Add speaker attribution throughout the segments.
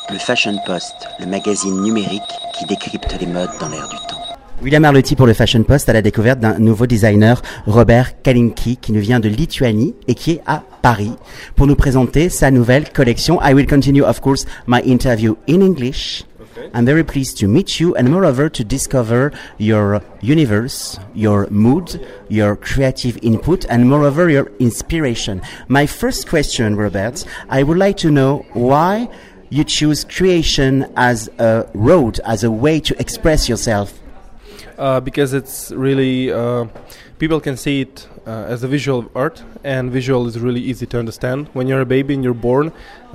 Speaker 1: Le Fashion Post, le magazine numérique qui décrypte les modes dans l'air du temps.
Speaker 2: William Arlotti pour le Fashion Post à la découverte d'un nouveau designer, Robert Kalinki, qui nous vient de Lituanie et qui est à Paris pour nous présenter sa nouvelle collection. I will continue, of course, my interview in English. Okay. I'm very pleased to meet you and moreover to discover your universe, your mood, your creative input and moreover your inspiration. My first question, Robert, I would like to know why you choose creation as a road, as a way to express yourself.
Speaker 3: Because it's really, people can see it as a visual art, and visual is really easy to understand. When you're a baby and you're born,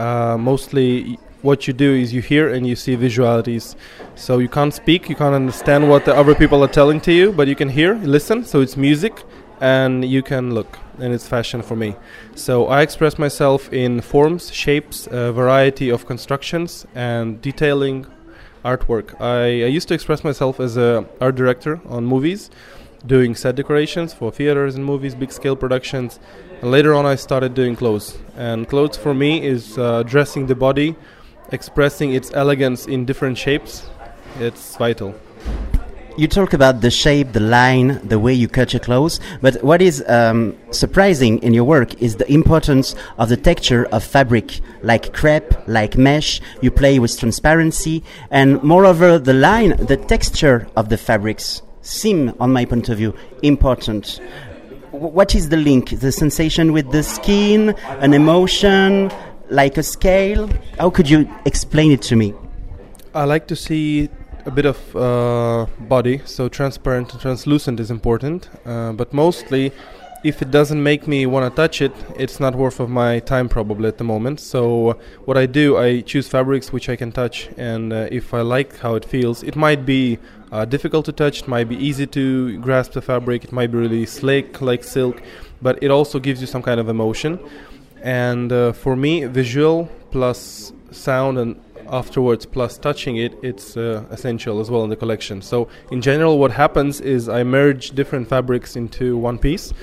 Speaker 3: mostly what you do is you hear and you see visualities. So you can't speak, you can't understand what the other people are telling to you, but you can hear, listen, so it's music, and you can look, and it's fashion for me. So I express myself in forms, shapes, a variety of constructions, and detailing artwork. I used to express myself as an art director on movies, doing set decorations for theaters and movies, big scale productions. And later on I started doing clothes. And clothes for me is dressing the body, expressing its elegance in different shapes. It's vital.
Speaker 2: You talk about the shape, the line, the way you cut your clothes, but what is surprising in your work is the importance of the texture of fabric, like crepe, like mesh. You play with transparency, and moreover, the line, the texture of the fabrics seem, on my point of view, important. What is the link? The sensation with the skin, an emotion, like a scale? How could you explain it to me?
Speaker 3: I like to see a bit of body, so transparent and translucent is important, but mostly if it doesn't make me want to touch it, it's not worth of my time probably at the moment. So what I do, I choose fabrics which I can touch, and if I like how it feels, it might be difficult to touch, it might be easy to grasp the fabric, it might be really slick like silk, but it also gives you some kind of emotion. And for me, visual plus sound and afterwards plus touching it, it's essential as well in the collection. So in general what happens is I merge different fabrics into one piece.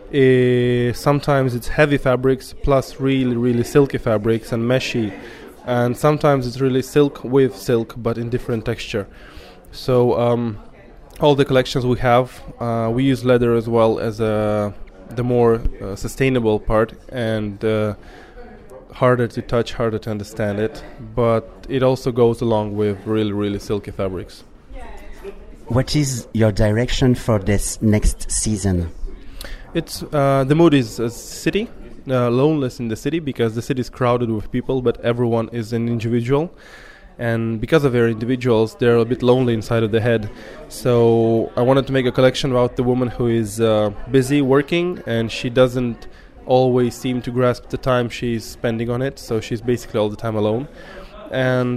Speaker 3: Sometimes it's heavy fabrics plus really silky fabrics and meshy, and sometimes it's really silk with silk but in different texture. So all the collections we have, we use leather as well as the more sustainable part, and harder to touch, harder to understand it, but it also goes along with really silky fabrics.
Speaker 2: What is your direction for this next season?
Speaker 3: It's the mood is a city, loneliness in the city, because the city is crowded with people, but everyone is an individual, and because of their individuals, they're a bit lonely inside of the head. So I wanted to make a collection about the woman who is busy working, and she doesn't always seem to grasp the time she's spending on it, so she's basically all the time alone. And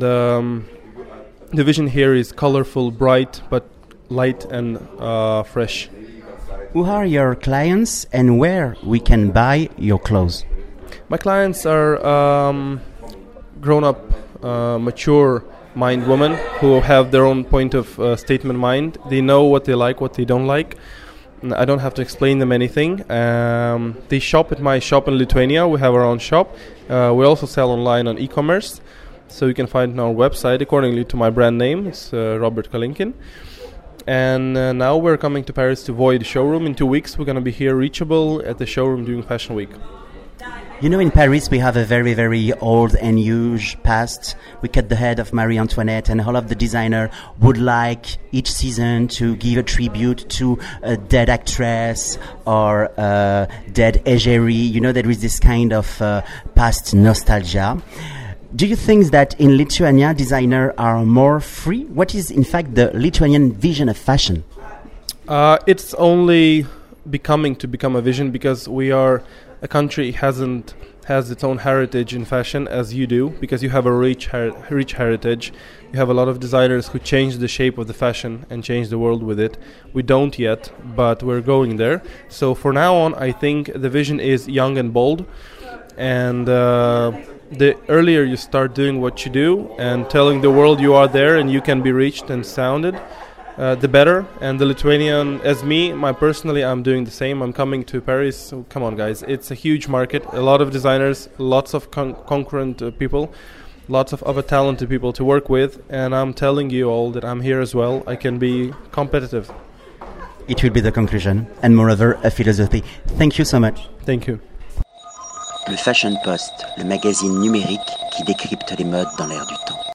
Speaker 3: the vision here is colorful, bright, but light and fresh.
Speaker 2: Who are your clients and where we can buy your clothes?
Speaker 3: My clients are grown-up, mature mind women who have their own point of statement mind. They know what they like, what they don't like. I don't have to explain them anything. They shop at my shop in Lithuania. We have our own shop. We also sell online on e-commerce, so you can find it on our website accordingly to my brand name. It's Robert Kalinkin. And now we're coming to Paris to Void showroom. In 2 weeks we're going to be here reachable at the showroom during Fashion Week.
Speaker 2: You know, in Paris we have a very old and huge past. We cut the head of Marie Antoinette, and all of the designer would like each season to give a tribute to a dead actress or a dead égérie. You know, there is this kind of past nostalgia. Do you think that in Lithuania designers are more free? What is in fact the Lithuanian vision of fashion?
Speaker 3: It's only become a vision because we are a country has its own heritage in fashion as you do, because you have a rich heritage. You have a lot of designers who changed the shape of the fashion and changed the world with it. We don't yet, but we're going there. So for now on, I think the vision is young and bold, and the earlier you start doing what you do and telling the world you are there and you can be reached and sounded, the better. And the Lithuanian, as me, personally, I'm doing the same. I'm coming to Paris. So come on, guys. It's a huge market. A lot of designers, lots of concurrent people. lots of other talented people to work with, and I'm telling you all that I'm here as well. I can be competitive.
Speaker 2: It will be the conclusion, and moreover, a philosophy. Thank you so much.
Speaker 3: Thank you.
Speaker 1: Le Fashion Post, le magazine numérique qui décrypte les modes dans l'air du temps.